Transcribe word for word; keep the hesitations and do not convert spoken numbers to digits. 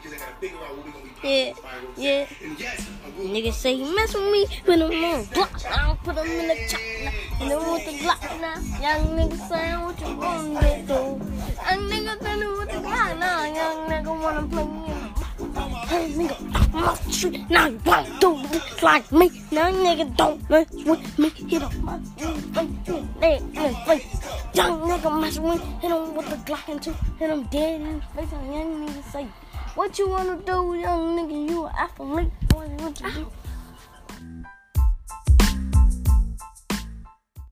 Yeah, yeah. Niggas say he mess with me, put him on block now, put him in the chop now, and then with the Glock now. Young niggas saying what you gonna get though. Young niggas saying with the Glock now, young nigga wanna play me. Hey nigga, I'm off the street, now you won't do this like me. Young nigga don't mess with me, hit up my face, in his face. Young nigga mess with me, hit him with the Glock and two, hit him dead in his face. And young nigga say, what you wanna do, young nigga? You an athlete, what you do?